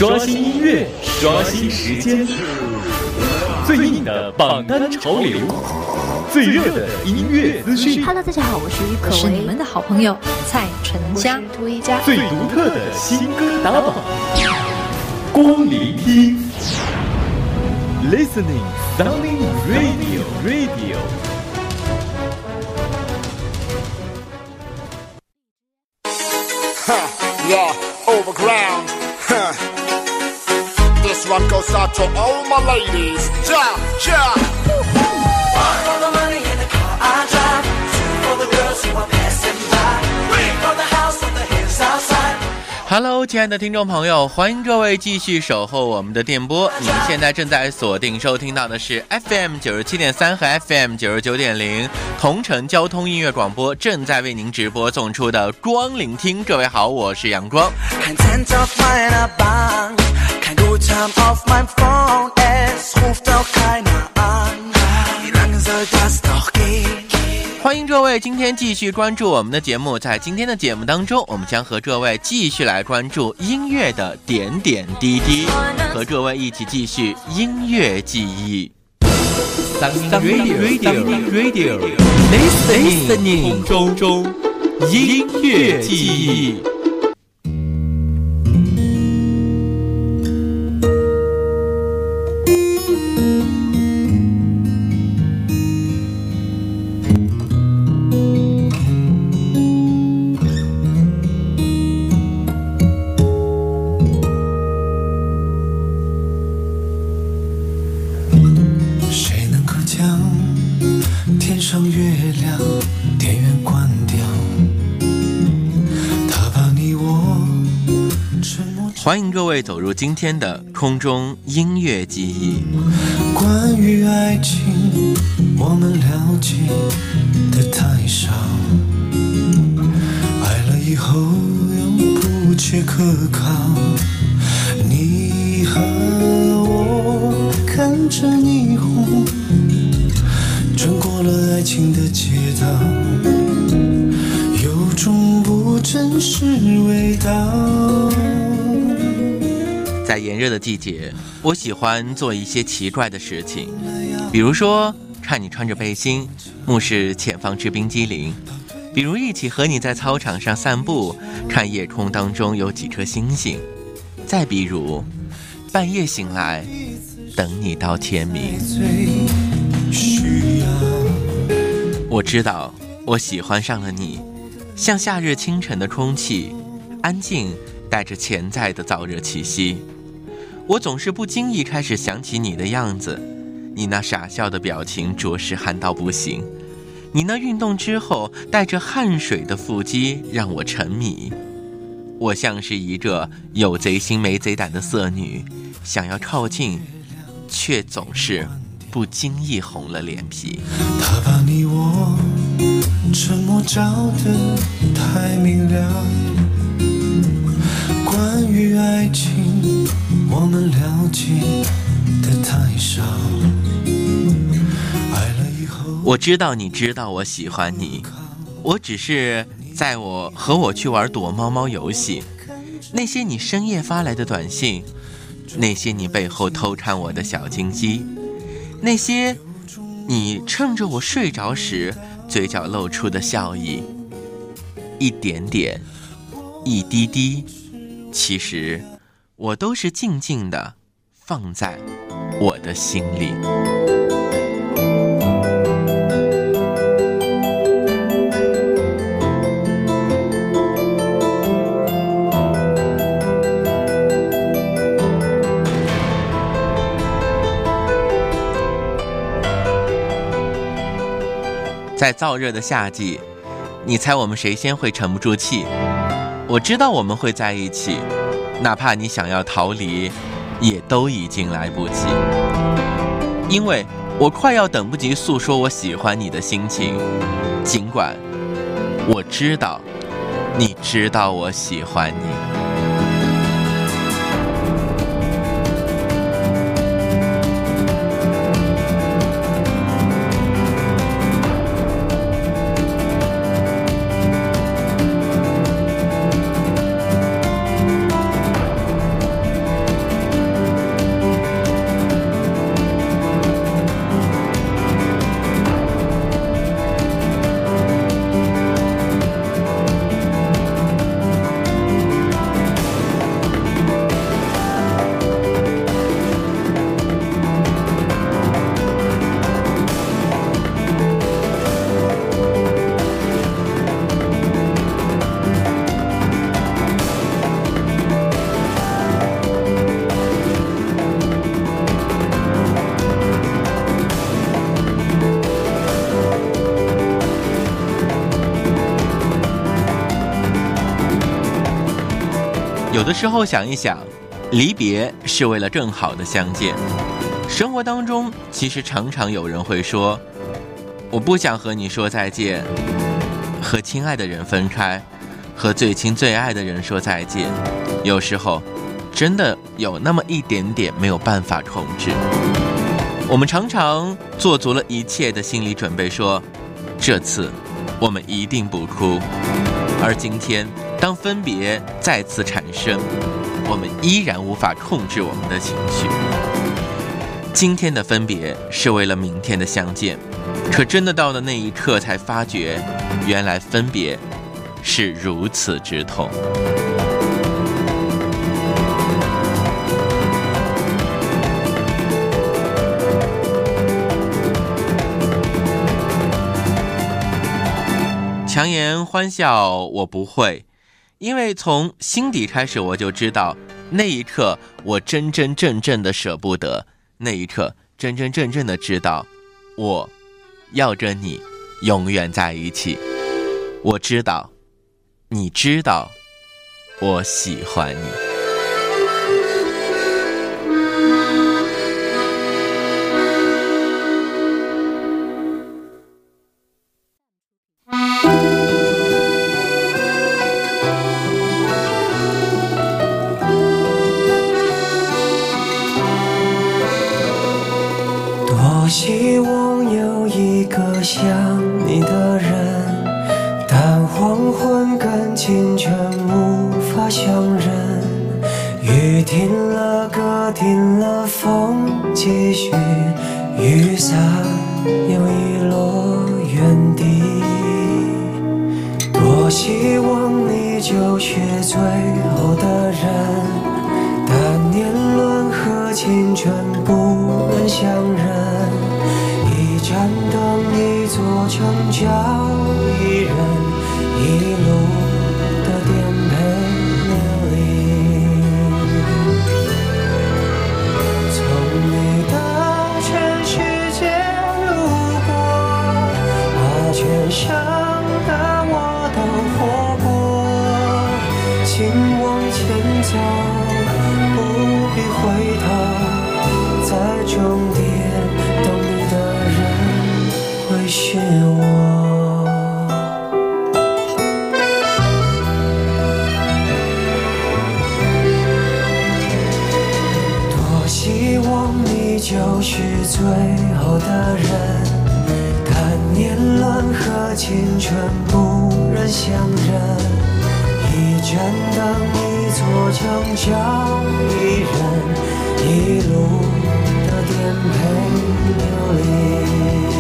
刷新音乐，刷新时间，最硬的榜单潮流，最热的音乐资讯。 Hello， 大家好，我是于可为， 是你们的好朋友蔡淳佳。 最独特的新歌打榜，光聆听 ，Listening Sunny Radio。 Yeah, overground. This one goes out to all my ladies. Ja, ja. One for the money in the car I drive. Two for the girls who are passing by. Three for the house on the hills outside.Hello， 亲爱的听众朋友，欢迎各位继续守候我们的电波。你现在正在锁定收听到的是 FM 97.3和 FM 99.0同城交通音乐广播，正在为您直播送出的光聆听。各位好，我是阳光。欢迎各位今天继续关注我们的节目。在今天的节目当中，我们将和各位继续来关注音乐的点点滴滴，和各位一起继续音乐记忆。Radio Listening 中音乐记忆。欢迎各位走入今天的空中音乐记忆。 关于爱情，我们了解的太少，爱了以后又不切可靠。你和我看着霓虹，穿过了爱情的街道，有种不真实味道。 在炎热的季节，我喜欢做一些奇怪的事情，比如说看你穿着背心，目视前方吃冰激凌；比如一起和你在操场上散步，看夜空当中有几颗星星；再比如半夜醒来，等你到天明。我知道我喜欢上了你，像夏日清晨的空气，安静带着潜在的燥热气息。我总是不经意开始想起你的样子，你那傻笑的表情着实憨到不行，你那运动之后带着汗水的腹肌让我沉迷。我像是一个有贼心没贼胆的色女，想要靠近，却总是不经意红了脸皮。 他把你我沉默照得太明亮，关于爱情我们了解的太少，爱了以后我知道你知道我喜欢你，我只是在和我去玩躲猫猫游戏，那些你深夜发来的短信，那些你背后偷看我的小金鸡，那些你趁着我睡着时嘴角露出的笑意，一点点一滴滴，其实我都是静静地放在我的心里。在燥热的夏季，你猜我们谁先会沉不住气？我知道我们会在一起，哪怕你想要逃离，也都已经来不及。因为我快要等不及诉说我喜欢你的心情，尽管我知道，你知道我喜欢你。 有的时候想一想，离别是为了更好的相见。生活当中其实常常有人会说，我不想和你说再见，和亲爱的人分开，和最亲最爱的人说再见，有时候真的有那么一点点没有办法控制。我们常常做足了一切的心理准备，说这次我们一定不哭，而今天当分别再次产生，我们依然无法控制我们的情绪。今天的分别是为了明天的相见，可真的到了那一刻才发觉，原来分别是如此之痛。强颜欢笑我不会，因为从心底开始我就知道，那一刻我真真正正的舍不得，那一刻真真正正的知道，我要跟你永远在一起。我知道，你知道，我喜欢你。 多希望有一个像你的人，但黄昏跟清晨无法相认。雨停了，歌停了，风继续，雨伞又遗落原地。多希望你就是最后的人，但年轮和青春不能相认。一盏灯，一座城，叫一人，一路的颠沛流离。从你的全世界路过，把全盛的我都活过。请往前走，不必回头，在终点等你的人会是我。多希望你就是最后的人，但年轮和青春不忍相认。一盏灯，一座城，叫一人，一路的颠沛流离。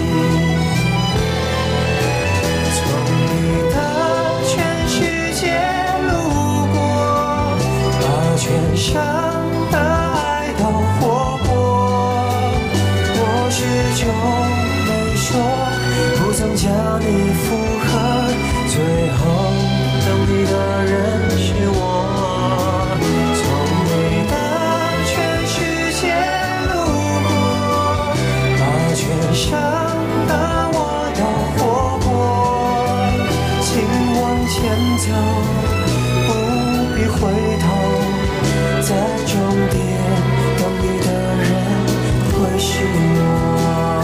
从你的全世界路过，把全盛的爱都活过。我始终没说，不曾将你附和，最后等你的人是我。从你的全世界路过，把全盛的我都活过。请往前走，不必回头，在终点等你的人会是我。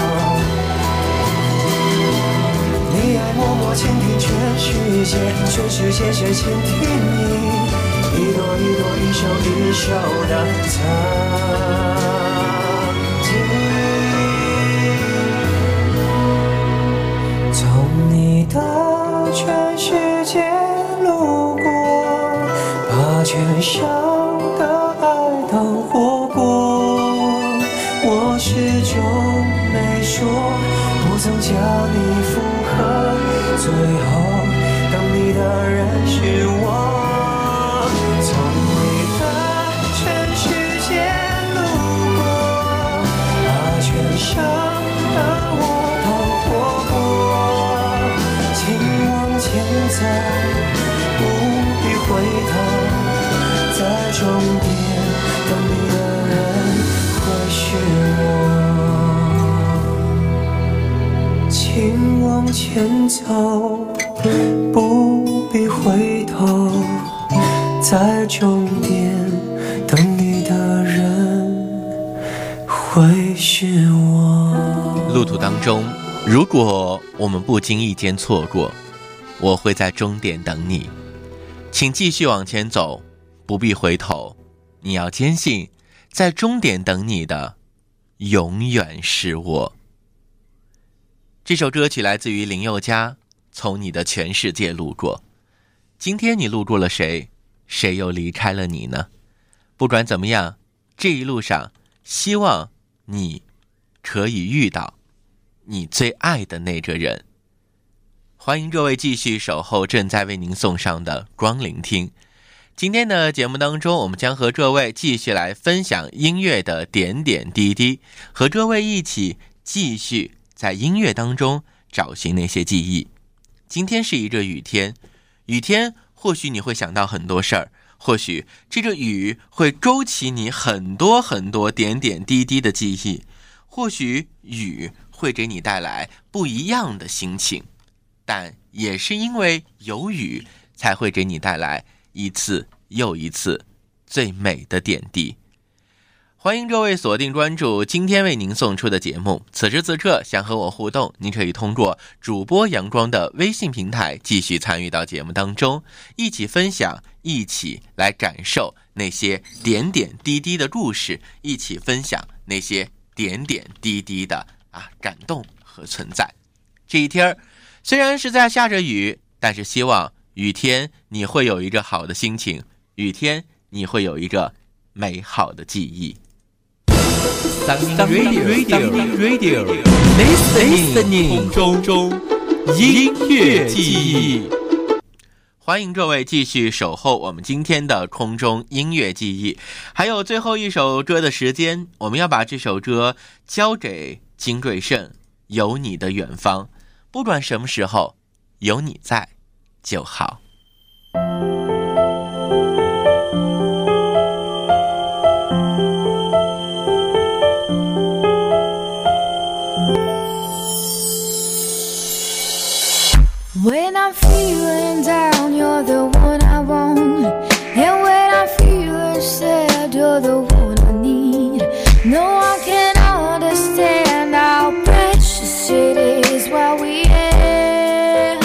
你爱默默倾听全世界，全世界却倾听你，一朵一朵，一首一首的曾经。从你的全世界路过，把全盛的爱都活过。我始终没说，不曾将你附和，最后等你的人是我。从你的全世界路过，把全盛的我都活过。请往前走，不必回头，在终点等你的人会是我。请往前走，不必回头， 在终点等你的人会是我。 路途当中，如果我们不经意间错过，我会在终点等你。请继续往前走，不必回头。你要坚信，在终点等你的永远是我。这首歌曲来自于林宥嘉，从你的全世界路过。今天你路过了谁？谁又离开了你呢？不管怎么样，这一路上希望你可以遇到你最爱的那个人。欢迎各位继续守候正在为您送上的光聆听。今天的节目当中，我们将和各位继续来分享音乐的点点滴滴，和各位一起继续在音乐当中找寻那些记忆。今天是一个雨天，雨天或许你会想到很多事儿，或许这个雨会勾起你很多很多点点滴滴的记忆，或许雨会给你带来不一样的心情，但也是因为有雨，才会给你带来一次又一次最美的点滴。欢迎各位锁定关注今天为您送出的节目。此时此刻想和我互动，您可以通过主播阳光的微信平台继续参与到节目当中，一起分享，一起来感受那些点点滴滴的故事，一起分享那些点点滴滴的感动和存在。这一天虽然是在下着雨，但是希望雨天你会有一个好的心情，雨天你会有一个美好的记忆。 Radio Listening 空中音乐记忆。 欢迎各位继续守候我们今天的空中音乐记忆。还有最后一首歌的时间，我们要把这首歌交给金瑞盛，有你的远方。不管什么时候，有你在就好。 When I'm feeling down, you're the one I want. And when I'm feeling sad, you're the one I need. No one can understand how precious it is what we have.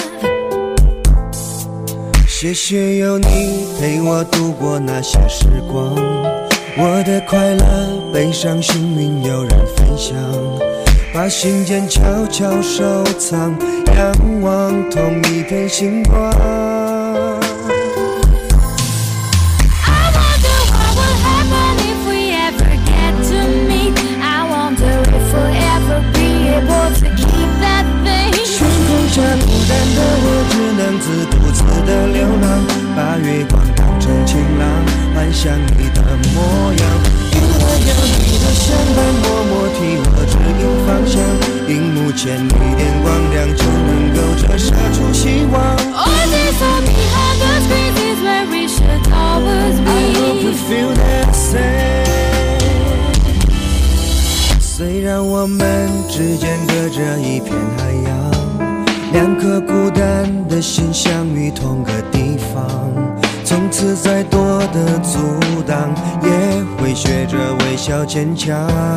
谢谢有你陪我度过那些时光，我的快乐、悲伤、幸运有人分享，把心间悄悄收藏，仰望同一片星光。 I wonder what will happen if we ever get to meet. I wonder if we'll ever be able to keep that thing. 天空下孤单的我，只能独自的流浪，把月光当成晴朗，幻想你的模样。因为有你的相伴，默默替我指引方向，荧幕前一点光亮，就能够折射出希望。 All this all behind the screens is where we should always be. I hope you feel that same. 虽然我们之间隔着一片海洋，两颗孤单的心相遇同个地方，从此再多的阻挡，也会学着微笑坚强。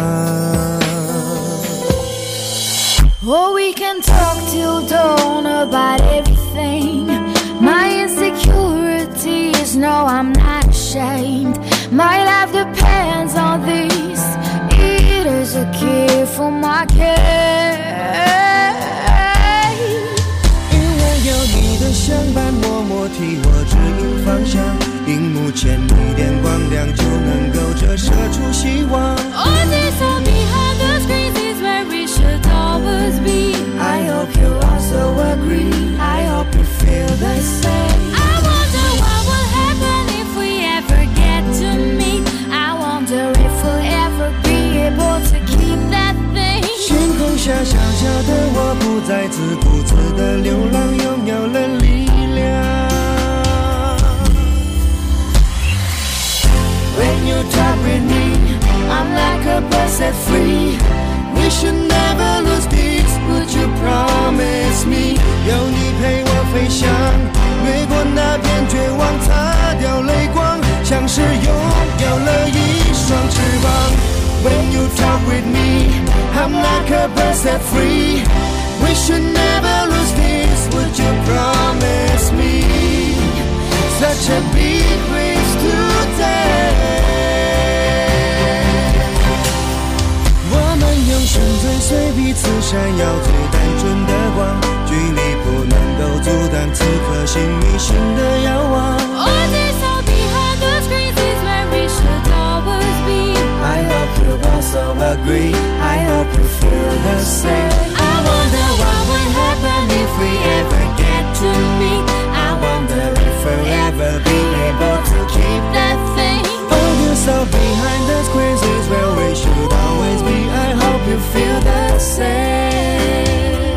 Oh, we can talk till dawn about everything. My insecurities, no, I'm not ashamed. My life depends on this. It is a gift from my care. 因为有你的相伴，默默替我指引方向，荧幕前一点光亮，就能够折射出希望。 All this all behind the screens is where we should always be. I hope you also agree. I hope you feel the same. I wonder what will happen if we ever get to meet. I wonder if we'll ever be able to keep that thing. 天空下小小的我，不再孤自的流浪，拥有了力量。When you talk with me, I'm like a bird set free. We should never lose this. Would you you promise me？ 有你陪我飞翔，越过那片绝望，擦掉泪光，像是拥有了一双翅膀。When you talk with me, I'm like a bird set free. We should never lose this, would you promise me? Such a big risk today. 我们用心追随彼此闪耀最单纯的光，距离不能够阻挡此刻心与心的遥望。 All this all behind the screens is where we should always be. I hope you also agree. I hope you feel the same. I wonder what would happen if we ever get to meet. I wonder if we'll ever be able to keep that thing. All this all behind the screens is where we should always be. I hope you feel the same.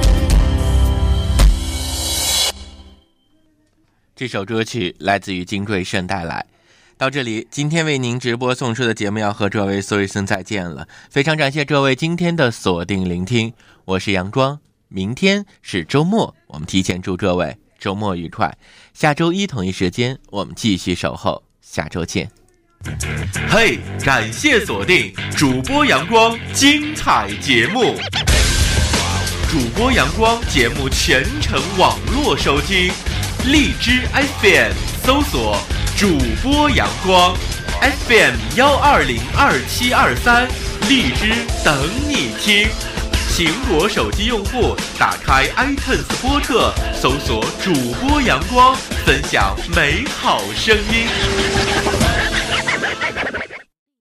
这首歌曲来自于金瑞盛带来。到这里，今天为您直播送出的节目要和各位说一声再见了。非常感谢各位今天的锁定聆听，我是杨庄。明天是周末，我们提前祝各位周末愉快。下周一同一时间，我们继续守候，下周见。 嘿，感谢锁定主播阳光精彩节目。主播阳光节目全程网络收听，荔枝 FM 搜索主播阳光 FM 1202723，荔枝等你听。苹果手机用户打开 iTunes 播客，搜索主播阳光，分享美好声音。